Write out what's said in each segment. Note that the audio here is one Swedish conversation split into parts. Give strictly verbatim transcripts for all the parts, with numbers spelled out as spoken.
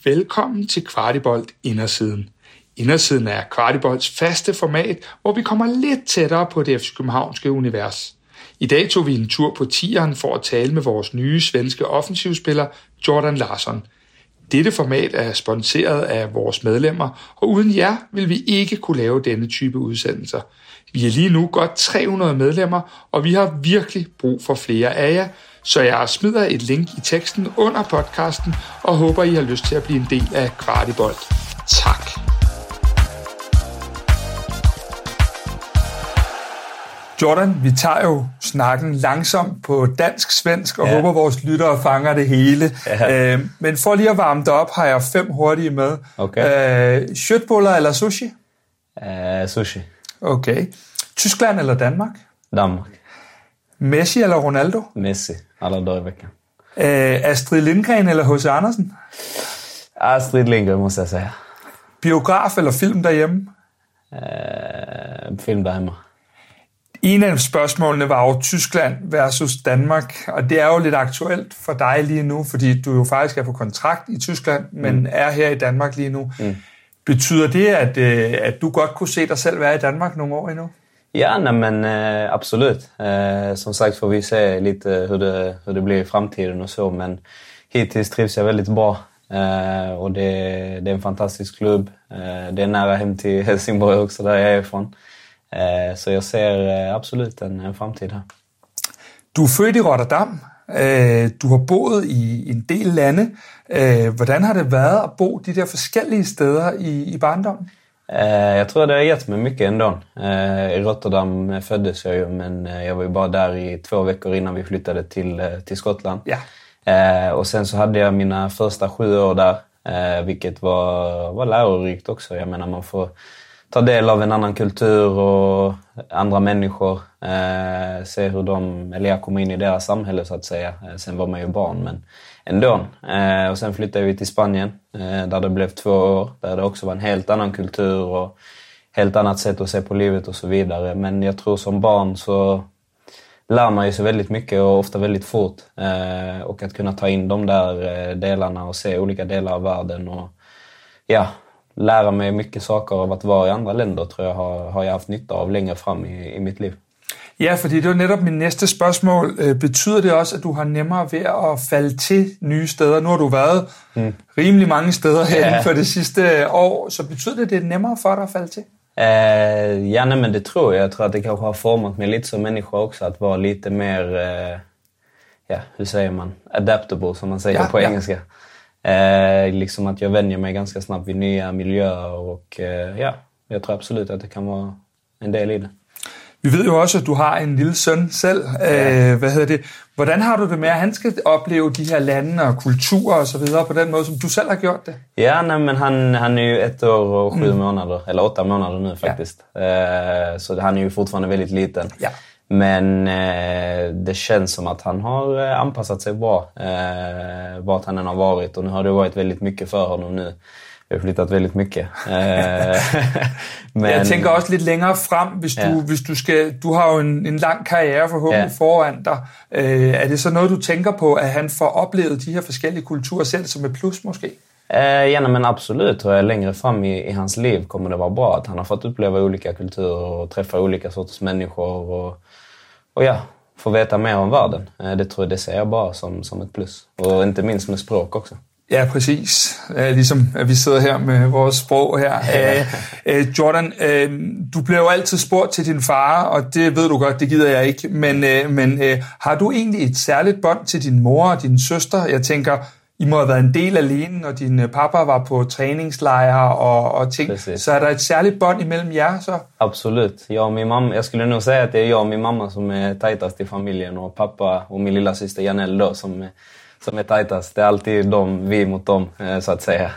Velkommen til Kvartibolt Indersiden. Indersiden er Kvartibolts faste format, hvor vi kommer lidt tættere på det F C Københavnske univers. I dag tog vi en tur på tieren for at tale med vores nye svenske offensivspiller Jordan Larsson. Dette format er sponsoreret af vores medlemmer, og uden jer vil vi ikke kunne lave denne type udsendelser. Vi er lige nu godt tre hundrede medlemmer, og vi har virkelig brug for flere af jer, så jeg smider et link i teksten under podcasten, og håber, I har lyst til at blive en del af Kvartibolt. Tak. Jordan, vi tager jo snakken langsomt på dansk-svensk, og ja. håber, vores lyttere fanger det hele. Ja. Øh, men for lige at varme det op, har jeg fem hurtige med. Okay. Øh, Köttbullar eller sushi? Uh, sushi. Okay. Tyskland eller Danmark? Danmark. Messi eller Ronaldo? Messi, alla dagar i veckan. Øh, Astrid Lindgren eller H C Andersen? Astrid Lindgren, måste jag säga. Biograf eller film derhjemme? Uh, film derhjemme. En af spørgsmålene var jo Tyskland versus Danmark, og det er jo lidt aktuelt for dig lige nu, fordi du jo faktisk er på kontrakt i Tyskland, men mm. er her i Danmark lige nu. Mm. Betyder det, at, at du godt kunne se dig selv være i Danmark nogle år endnu? Ja, nej, men uh, absolut. Uh, som sagt får vi se lite hur det, hur det blir i framtiden och så, men hittills trivs jag väldigt bra. Uh, och det, det är en fantastisk klubb. Uh, det är nära hem till Helsingborg också, där jag är ifrån. Uh, så jag ser uh, absolut en, en framtid her. Du er født i Rotterdam. Uh, du har boet i en del lande. Uh, hvordan har det været at bo de der forskellige steder i, i barndommen? Uh, jag tror det har gett mig mycket ändå. Uh, I Rotterdam föddes jag ju, men uh, jag var ju bara där i två veckor innan vi flyttade till, uh, till Skottland. Ja. Uh, och sen så hade jag mina första sju år där, uh, vilket var, var lärorikt också. Jag menar, man får ta del av en annan kultur och andra människor, eh, se hur de, eller jag kom in i deras samhälle så att säga. Eh, sen var man ju barn, men ändå. Eh, och sen flyttade vi till Spanien, eh, där det blev två år, där det också var en helt annan kultur och helt annat sätt att se på livet och så vidare. Men jag tror som barn så lär man ju sig väldigt mycket och ofta väldigt fort. Eh, och att kunna ta in de där delarna och se olika delar av världen och ja, lære mig mycket saker av at være i andre länder, tror jeg, har, har jeg haft nytte av længere frem i, i mit liv. Ja, fordi det var netop min næste spørgsmål. Øh, betyder det også, at du har nemmere ved at falde til nye steder? Nu har du været hmm. rimelig mange steder her ja. for det sidste år, så betyder det, at det er nemmere for dig at falde til? Uh, ja, nej, men det tror jeg. Jeg tror, at det kanske har format mig lidt som människa också, at være lite mer, uh, ja, hur säger man, adaptable, som man säger ja, på engelska. Ja. Eh, liksom att jag vänjer mig ganska snabbt vid nya miljöer och eh, ja, jag tror absolut att det kan vara en del i det. Vi ved jo også, at du har en lille søn selv. Ja. Øh, hvad hedder det? Hvordan har du det med, at han skal opleve de her lande og kulturer og så videre på den måde, som du selv har gjort det? Ja, nej, men han, han är ju ett år och sju mm. månader, eller åtta månader nu faktiskt. Ja. Eh, så han är ju fortfarande väldigt liten. Ja. Men eh, det känns som att han har eh, anpassat sig bra eh, vart han än har varit. Och nu har det varit väldigt mycket för honom nu. Vi har flyttat väldigt mycket. Eh, men jeg tænker også lidt længere frem, hvis du, ja. hvis du skal... Du har jo en, en lang karriere forhåbentlig ja. foran dig. Eh, er det så noget, du tænker på, at han får oplevet de her forskellige kulturer selv som et plus måske? Eh, ja, men absolut. Och längre fram i, i hans liv kommer det vara bra att han har fått uppleva olika kulturer och träffa olika sorters människor och, och ja, få veta mer om världen. Eh, det tror jag det ser jag bara som, som ett plus. Och inte minst med språk också. Ja, præcis. Eh, ligesom at vi sidder her med vores sprog her. Eh, eh, Jordan, eh, du bliver jo altid spurgt til din far, og det ved du godt, det gider jeg ikke. Men, eh, men eh, har du egentlig et særligt bånd til din mor og din søster? Jeg tænker... I må have været en del alene, når din pappa var på träningslejre og, og ting. Precis. Så er der et særligt bånd imellem jer så? Absolut. Jag och min mamma, jag skulle nog säga att det är jag och min mamma som är tajtast i familjen och pappa och min lilla syster Janelle då som är, som är tajtast. Det är alltid de, vi mot dem så att säga.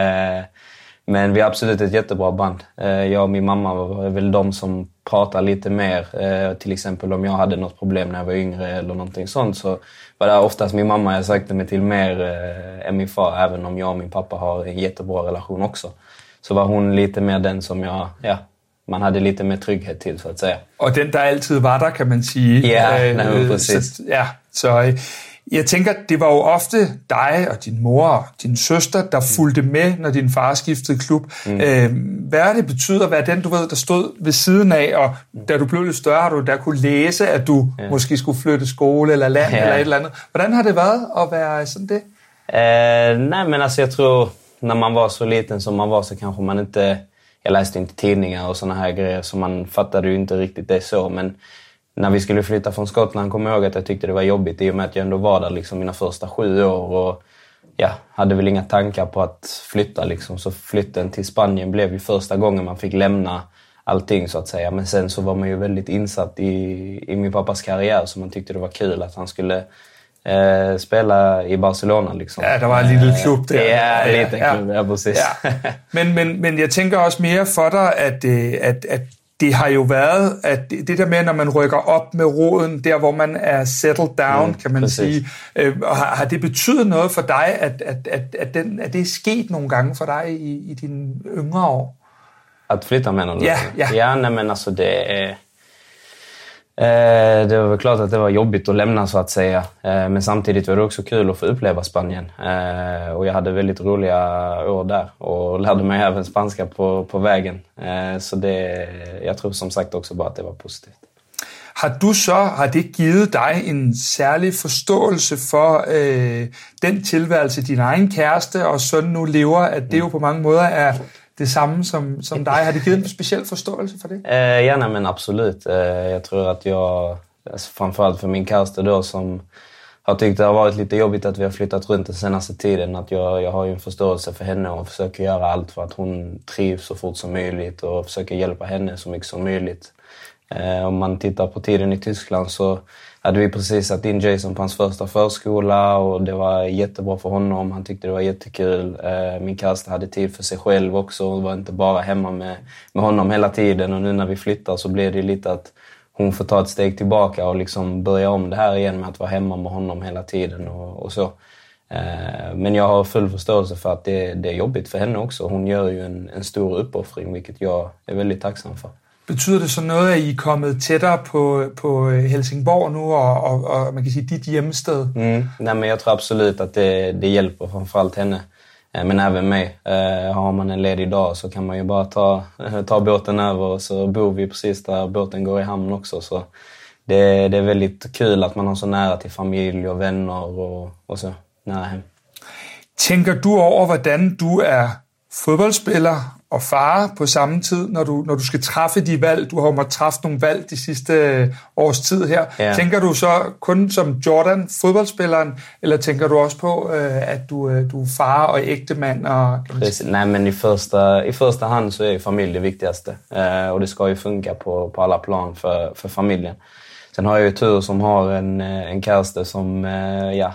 Men vi har absolut ett jättebra band. Jag och min mamma var väl de som pratar lite mer. Till exempel om jag hade något problem när jag var yngre eller någonting sånt, så var det oftast min mamma jag sökte mig till mer än min far. Även om jag och min pappa har en jättebra relation också, så var hon lite mer den som jag, ja, man hade lite mer trygghet till så att säga. Og den der altid var der, kan man sige. Ja, nej, øh, præcis. Så, ja, så Jeg tænker, det var jo ofte dig og din mor og din søster, der fulgte med, når din far skiftede klub. Mm. Øh, hvad er det betyder at være den, du ved, der stod ved siden af, og da du blev lidt større, har du der kunne læse, at du ja. måske skulle flytte skole eller land ja. eller et eller andet. Hvordan har det været at være sådan det? Eh, nej, men alltså jag tror när man var så liten som man var så kanske man inte, jag läste inte tidningar och såna här grejer så man fattade ju inte riktigt det så, men när vi skulle flytta från Skottland kom jag ihåg att jag tyckte det var jobbigt i och med att jag ändå var där liksom mina första sju år och ja, hade väl inga tankar på att flytta liksom, så flytten till Spanien blev ju första gången man fick lämna allting så att säga, men sen så var man ju väldigt insatt i, i min pappas karriär så man tyckte det var kul att han skulle Eh, spela i Barcelona liksom. Ja, der var en lille klub der. Ja, en liten ja, klub, ja, præcis. Ja. Men, men, men jeg tænker også mere for dig, at, at, at det har jo været, at det der med, når man rykker op med roden, der hvor man er settled down, mm, kan man præcis. sige, øh, har, har det betydet noget for dig, at, at, at, at, den, at det er sket nogle gange for dig i, i dine yngre år? Att flytta menar du? Ja, ja. Ja, nej, men alltså det är... Eh, det var väl klart att det var jobbigt att lämna så att säga. Eh, men samtidigt var det också kul att få uppleva Spanien. Eh, och jag hade väldigt roliga år där. Och lärde mig även spanska på, på vägen. Eh, så det, jag tror som sagt också bara att det var positivt. Har du så, har det givet dig en særlig forståelse for øh, den tilværelse, din egen kæreste og søn nu lever, at det jo på mange måder er det samme som, som dig? Har det givet en speciell förståelse för det? Eh, ja, nej, men absolut. Eh, jag tror att jag, alltså framförallt för min kärste då som har tyckt det har varit lite jobbigt att vi har flyttat runt den senaste tiden, att jag, jag har ju en förståelse för henne och försöker göra allt för att hon trivs så fort som möjligt och försöker hjälpa henne så mycket som möjligt. Eh, om man tittar på tiden i Tyskland så hade vi precis satt in Jason på hans första förskola och det var jättebra för honom. Han tyckte det var jättekul. Min kärste hade tid för sig själv också och var inte bara hemma med, med honom hela tiden. Och nu när vi flyttar så blev det lite att hon får ta ett steg tillbaka och liksom börja om det här igen med att vara hemma med honom hela tiden och, och så. Men jag har full förståelse för att det, det är jobbigt för henne också. Hon gör ju en, en stor uppoffring, vilket jag är väldigt tacksam för. Betyder det så noget, at I er kommet tættere på, på Helsingborg nu, og, og, og man kan sige, dit hjemsted? Mm, nej, men jag tror absolut att det, det hjälper framförallt henne, men även mig. Eh, har man en ledig dag så kan man ju bara ta, ta båten över och så bor vi precis där båten går i hamn också. Så det, det är väldigt kul att man har så nära till familj och vänner och, och så nära hem. Tænker du over, hvordan du er fodboldspiller og far på samme tid, når du, når du skal træffe de valg? Du har jo måttet træffe nogle valg de sidste års tid her. Ja. Tænker du så kun som Jordan, fodboldspilleren, eller tænker du også på, at du, du er far og ægtemand? Og, Nej, men i första, i första hand så är familj det viktigaste. Och det ska ju funka på, på alla plan för, för familjen. Sen har jag ju tur som har en, en kärste som, ja,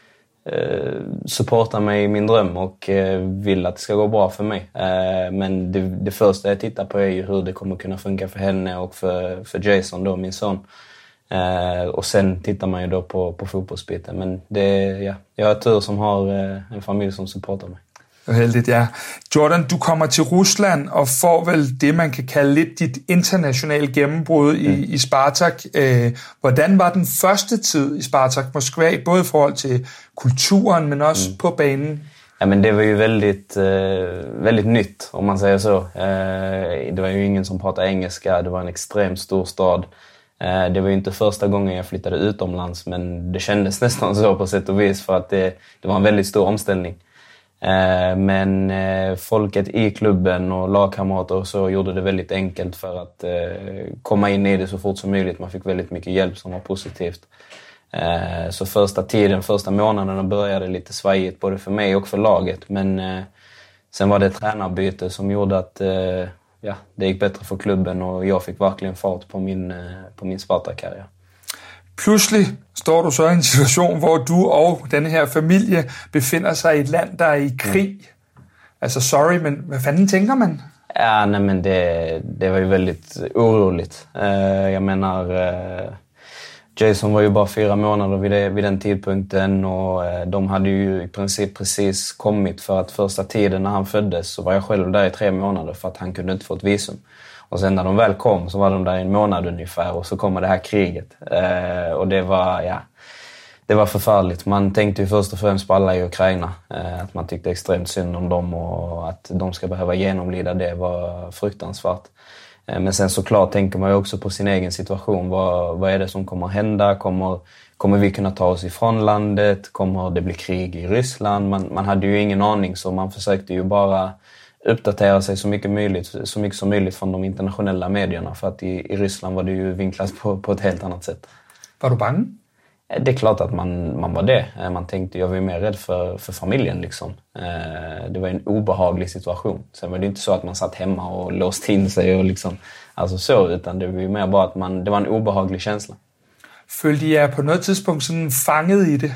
supportar mig i min dröm och vill att det ska gå bra för mig. Men det, det första jag tittar på är ju hur det kommer kunna funka för henne och för, för Jason då, min son. Och sen tittar man ju då på, på fotbollsbiten. Men det, ja, jag har tur som har en familj som supportar mig. Heldigt, ja. Jordan, du kommer til Rusland og får vel det, man kan kalde lidt dit internationale gennembrud i, mm. i Spartak. Øh, hvordan var den første tid i Spartak Moskva, både i forhold til kulturen, men også mm. på banen? Ja, men det var ju väldigt, eh, väldigt nytt, om man säger så. Eh, det var ju ingen som pratade engelska, det var en extremt stor stad. Eh, det var ju inte första gången jag flyttade utomlands, men det kändes nästan så på sätt och vis för att det, det var en väldigt stor omställning. Men folket i klubben och lagkamrater och så gjorde det väldigt enkelt för att komma in i det så fort som möjligt. Man fick väldigt mycket hjälp som var positivt. Så första tiden, första månaderna började lite svajigt både för mig och för laget. Men sen var det ett tränarbyte som gjorde att ja, det gick bättre för klubben och jag fick verkligen fart på min, på min Sparta-karriär. Pludselig står du så i en situation, hvor du og denne her familie befinder sig i et land, der er i krig. Mm. Altså, sorry, men hvad fanden tænker man? Ja, nej, men det, det var ju väldigt oroligt. Uh, jag menar, uh, Jason var ju bara fyra månader vid, det, vid den tidpunkten och uh, de hade ju i princip precis kommit för att första tiden när han föddes så var jag själv där i tre månader för att han kunde inte få ett visum. Och sen när de väl kom så var de där i en månad ungefär och så kommer det här kriget. Eh, och det var, ja, det var förfärligt. Man tänkte ju först och främst på alla i Ukraina. Eh, att man tyckte extremt synd om dem och att de ska behöva genomlida det var fruktansvärt. Eh, men sen såklart tänker man ju också på sin egen situation. Vad, vad är det som kommer hända? Kommer, kommer vi kunna ta oss ifrån landet? Kommer det bli krig i Ryssland? Man, man hade ju ingen aning, så man försökte ju bara uppdatera sig så mycket, möjligt, så mycket som möjligt från de internationella medierna. För att i, i Ryssland var det ju vinklat på, på ett helt annat sätt. Var du bange? Det är klart att man, man var det. Man tänkte, jag var ju mer rädd för, för familjen liksom. Det var en obehaglig situation. Sen var det inte så att man satt hemma och låste in sig och liksom, alltså så, utan det var ju mer bara att man, det var en obehaglig känsla. Følte jeg på något tidspunkt sådan fanget i det?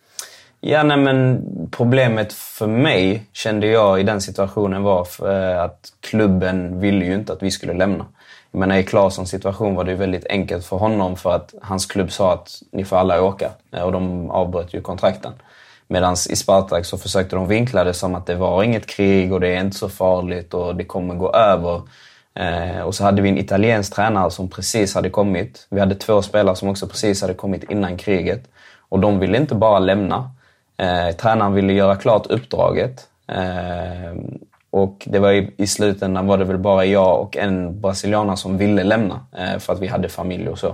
Ja, nej, men problemet för mig, kände jag i den situationen, var för att klubben ville ju inte att vi skulle lämna. Jag menar, i Claessons situation var det ju väldigt enkelt för honom, för att hans klubb sa att ni får alla åka, och de avbröt ju kontrakten. Medan i Spartak så försökte de vinkla det som att det var inget krig och det är inte så farligt och det kommer gå över. Eh, och så hade vi en italiensk tränare som precis hade kommit. Vi hade två spelare som också precis hade kommit innan kriget. Och de ville inte bara lämna. Eh, tränaren ville göra klart uppdraget. Eh, och det var i, i slutändan var det väl bara jag och en brasilianare som ville lämna. Eh, för att vi hade familj och så.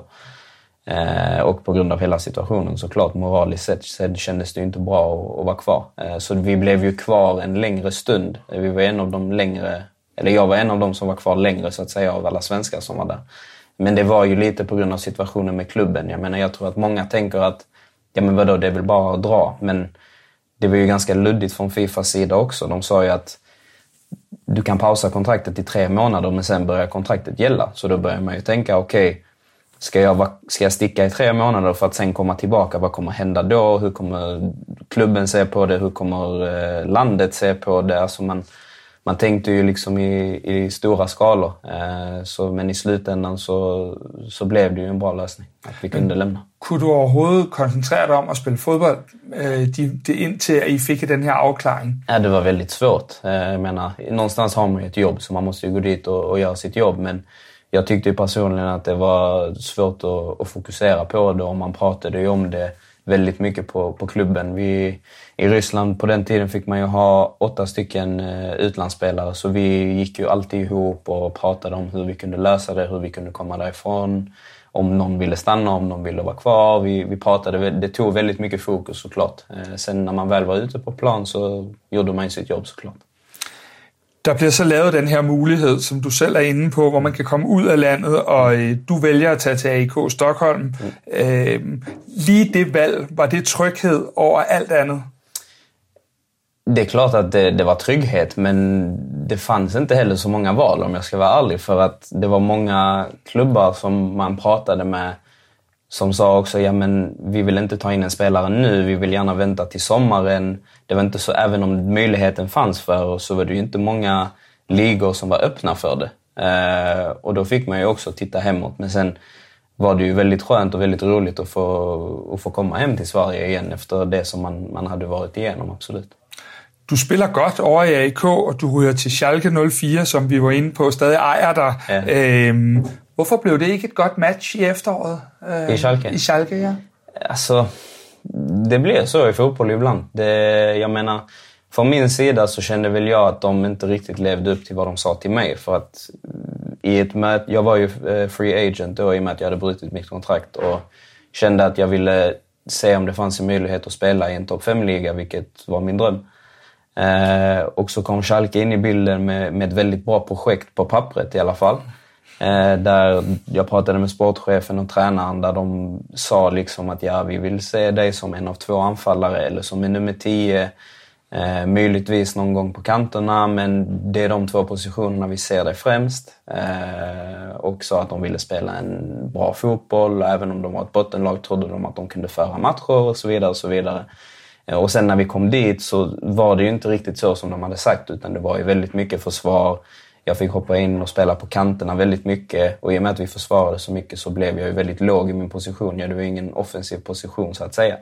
Eh, och på grund av hela situationen, såklart moraliskt sett, så kändes det ju inte bra att, att vara kvar. Eh, så vi blev ju kvar en längre stund. Eh, vi var en av de längre... Eller jag var en av dem som var kvar längre, så att säga, av alla svenskar som var där. Men det var ju lite på grund av situationen med klubben. Jag menar, jag tror att många tänker att ja, men vadå, det är väl bara att dra. Men det var ju ganska luddigt från Fifas sida också. De sa ju att du kan pausa kontraktet i tre månader, men sen börjar kontraktet gälla. Så då börjar man ju tänka, okej, okay, ska jag, ska jag sticka i tre månader för att sen komma tillbaka? Vad kommer hända då? Hur kommer klubben se på det? Hur kommer eh, landet se på det? Alltså man... Man tänkte ju liksom i, i stora skalor, eh, så, men i slutändan så, så blev det ju en bra lösning att vi kunde lämna. Kunne du overhovedet koncentrere dig om at spille fodbold, eh, de, de, indtil I fick den här avklaring? Ja, det var väldigt svårt. Eh, jag menar, någonstans har man ju ett jobb, så man måste ju gå dit och, och göra sitt jobb, men jag tyckte ju personligen att det var svårt att, att fokusera på det, och man pratade ju om det väldigt mycket på, på klubben. Vi, i Ryssland på den tiden fick man ju ha åtta stycken eh, utlandsspelare, så vi gick ju alltid ihop och pratade om hur vi kunde lösa det, hur vi kunde komma därifrån, om någon ville stanna, om någon ville vara kvar. Vi, vi pratade, det tog väldigt mycket fokus såklart. Eh, sen när man väl var ute på plan så gjorde man sitt jobb såklart. Der bliver så lavet den her mulighed, som du selv er inde på, hvor man kan komme ud af landet, og øh, du vælger at tage til A I K Stockholm. Mm. Øh, lige det valg, var det tryghed over alt andet? Det är klart att det, det var trygghet, men det fanns inte heller så många val, om jag ska vara ärlig, för att det var många klubbar som man pratade med som sa också, ja men vi vill inte ta in en spelare nu, vi vill gärna vänta till sommaren. Det var inte så, även om möjligheten fanns för oss, så var det ju inte många ligor som var öppna för det. Eh, och då fick man ju också titta hemåt, men sen var det ju väldigt skönt och väldigt roligt att få, att få komma hem till Sverige igen efter det som man, man hade varit igenom, absolut. Du spiller godt over i A I K, og du ryger til Schalke nul fire, som vi var inde på, stadig ejer dig. Ja. Øhm, hvorfor blev det ikke et godt match i efteråret? I Schalke? I Schalke, ja. Alltså, det blir så i fotboll ibland. Det, jag menar, från min sida så kände väl jag att de inte riktigt levde upp till vad de sa till mig. För att i ett möte, jag var ju free agent då, i och med att jag hade brutit mitt kontrakt, och kände att jag ville se om det fanns en möjlighet att spela i en topp fem-liga, vilket var min dröm. Eh, och så kom Schalke in i bilden med, med ett väldigt bra projekt på pappret i alla fall. Eh, där jag pratade med sportchefen och tränaren, där de sa liksom att ja, vi vill se dig som en av två anfallare eller som en nummer tio. Eh, möjligtvis någon gång på kanterna, men det är de två positionerna vi ser dig främst. Eh, och så att de ville spela en bra fotboll, och även om de var ett bottenlag trodde de att de kunde föra matcher och så vidare och så vidare. Och sen när vi kom dit så var det ju inte riktigt så som de hade sagt, utan det var ju väldigt mycket försvar. Jag fick hoppa in och spela på kanterna väldigt mycket, och i och med att vi försvarade så mycket så blev jag ju väldigt låg i min position. Jag hade ju ingen offensiv position så att säga.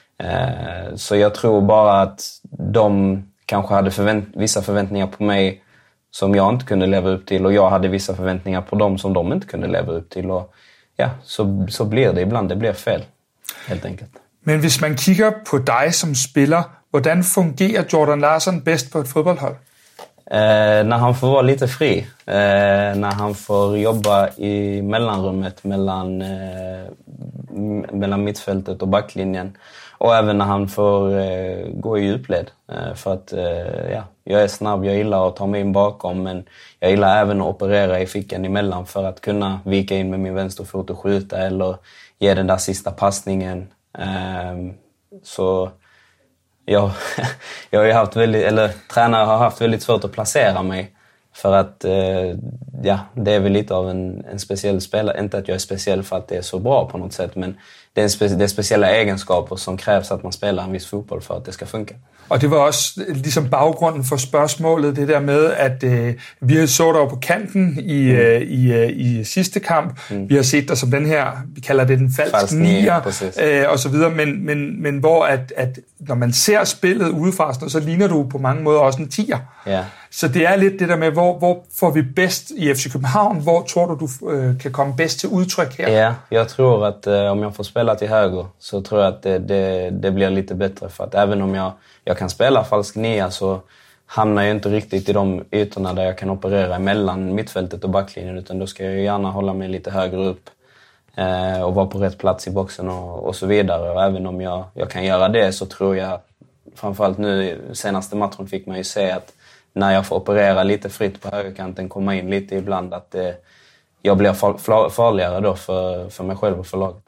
Så jag tror bara att de kanske hade förvänt- vissa förväntningar på mig som jag inte kunde leva upp till, och jag hade vissa förväntningar på dem som de inte kunde leva upp till. Och ja, så, så blir det ibland, det blir fel helt enkelt. Men hvis man kigger på dig som spiller, hvordan fungerer Jordan Larsson bedst på et fodboldhold? Eh, när han får vara lite fri, eh, när han får jobba i mellanrummet mellan, eh, mellan mittfältet och backlinjen. Och även när han får eh, gå i djupled. Eh, för att eh, ja, jag är snabb, jag gillar att ta mig in bakom, men jag gillar även att operera i fickan emellan för att kunna vika in med min vänsterfot och skjuta eller ge den där sista passningen. Eh, så jag, jag har ju haft väldigt, eller tränare har haft väldigt svårt att placera mig. För att eh, ja, det är väl lite av en, en speciell spelare. Inte att jag är speciell för att det är så bra på något sätt, men det är, spe- det är speciella egenskaper som krävs att man spelar en viss fotboll för att det ska funka. Og det var også ligesom baggrunden for spørgsmålet, det der med, at øh, vi så dig på kanten i, mm. øh, i, øh, i sidste kamp. Mm. Vi har set dig som den her, vi kalder det den falsk, falsk nier, øh, og så videre. Men, men, men hvor at, at når man ser spillet udefra, så ligner du på mange måder også en tier. Yeah. Så det er lidt det der med, hvor, hvor får vi bedst i F C København? Hvor tror du, du øh, kan komme bedst til udtryk her? Ja, jag tror att eh, om jag får spela till höger så tror jag att det, det, det blir lite bättre. För att även om jag, jag kan spela falsk nia så hamnar jag inte riktigt i de ytorna där jag kan operera mellan mittfältet och backlinjen. Utan då ska jag ju gärna hålla mig lite högre upp eh, och vara på rätt plats i boxen och, och så vidare. Och även om jag, jag kan göra det så tror jag, framförallt nu senaste matchen fick man ju se att när jag får operera lite fritt på högerkanten, komma in lite ibland, att det, jag blir far, farligare då för, för mig själv och för laget.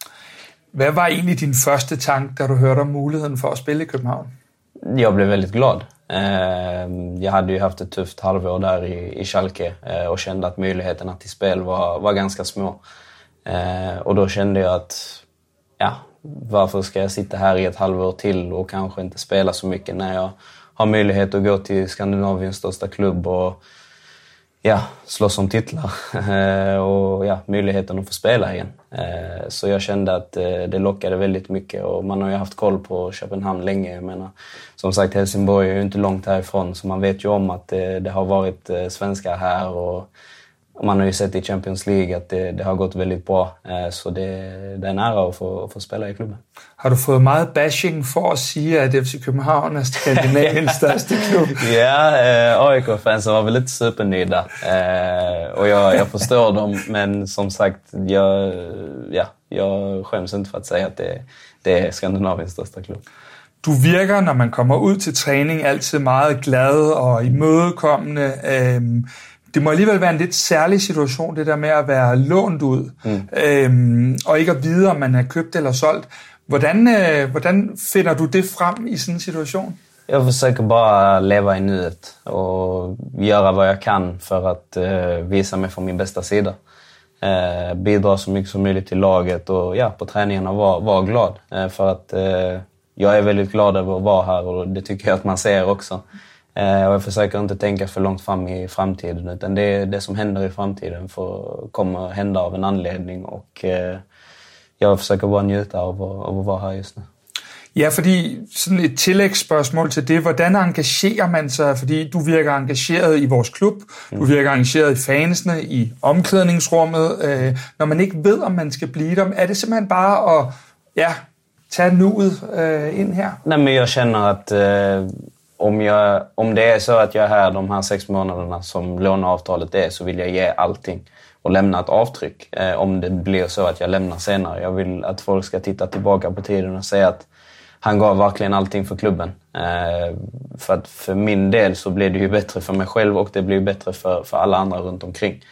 Hvad var egentlig din første tanke, da du hørte om muligheden for at spille i København? Jag blev väldigt glad. Jag hade ju haft ett tufft halvår där i, i Schalke och kände att möjligheterna till spel var, var ganska små. Och då kände jag att ja, varför ska jag sitta här i ett halvår till och kanske inte spela så mycket när jag har möjlighet att gå till Skandinaviens största klubb och ja, slåss om titlar och ja, möjligheten att få spela igen. Så jag kände att det lockade väldigt mycket och man har ju haft koll på Köpenhamn länge. Jag menar, som sagt, Helsingborg är ju inte långt härifrån så man vet ju om att det, det har varit svenskar här och man har ju sett i Champions League att det, det har gått väldigt bra. Så det, det är en ära att få, att få spela i klubben. Har du fået meget bashing for at sige, at F C København er Skandinaviens største klub? Ja, eh, A I K-fansen var väl lite supernöjda. Eh, och jag, jag förstår dem, men som sagt, jag, ja, jag skäms inte för att säga att det, det är Skandinaviens største klub. Du virker, når man kommer ud til træning, altid meget glad og imødekommende. Øhm, Det må alligevel være en lidt særlig situation, det der med at være lånt ud, mm. øhm, og ikke at vide, om man er købt eller solgt. Hvordan, øh, hvordan finder du det frem i sådan en situation? Jag försöker bara leva i nuet och göra vad jag kan för att uh, visa mig från min bästa sida. Uh, bidra så mycket som möjligt till laget och ja, på träningarna vara var glad. Uh, för att uh, jag är väldigt glad över att vara här och det tycker jag att man ser också. Uh, och jag försöker inte tänka för långt fram i framtiden, utan det, det som händer i framtiden får, kommer hända av en anledning och uh, jag försöker bara njuta av, av att vara här just nu. Ja, fordi sådan et tillægsspørgsmål til det, hvordan engagerer man sig? Fordi du virker engageret i vores klub, mm. du virker engageret i fansene, i omklædningsrummet. Øh, når man ikke ved, om man skal blive der, er det simpelthen bare at ja, tage nuet øh, ind her? Nej, men jag känner att eh, om, jag, om det är så att jag är här de här sex månaderna som låneavtalet är, så vill jag ge allting och lämna ett avtryck. Eh, om det blir så att jag lämnar senare. Jag vill att folk ska titta tillbaka på tiden och säga att han gav verkligen allting för klubben. Eh, för att för min del så blir det ju bättre för mig själv och det blir ju bättre för, för alla andra runt omkring.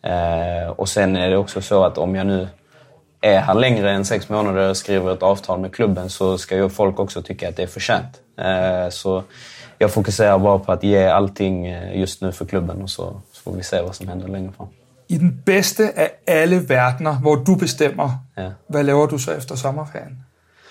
Eh, och sen är det också så att om jag nu är här längre än sex månader och skriver ett avtal med klubben, så ska ju folk också tycka att det är förtjänt. Eh, så jag fokuserar bara på att ge allting just nu för klubben, och så, så får vi se vad som händer längre fram. I den bedste af alle verdener, hvor du bestemmer, ja. Hvad laver du så efter sommerferien?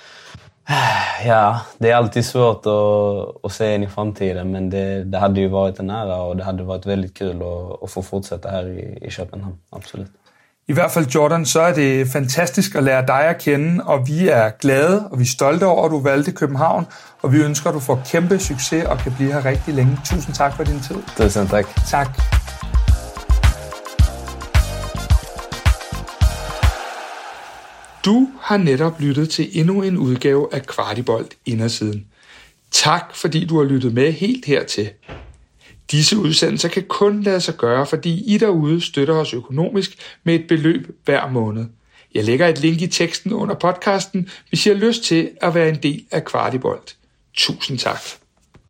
Ja, det är alltid svårt att, att se in i framtiden, men det, det hade ju varit en ära och det hade varit väldigt kul att, att få fortsätta här i, i Köpenhamn, absolut. I hvert fald, Jordan, så er det fantastisk at lære dig at kende, og vi er glade, og vi er stolte over, at du valgte København, og vi ønsker, at du får kæmpe succes og kan blive her rigtig længe. Tusind tak for din tid. Tusind tak. Tak. Du har netop lyttet til endnu en udgave af Kvartibolt Indersiden. Tak fordi du har lyttet med helt hertil. Disse udsendelser kan kun lade sig gøre, fordi I derude støtter os økonomisk med et beløb hver måned. Jeg lægger et link i teksten under podcasten, hvis I har lyst til at være en del af Kvartibolt. Tusind tak.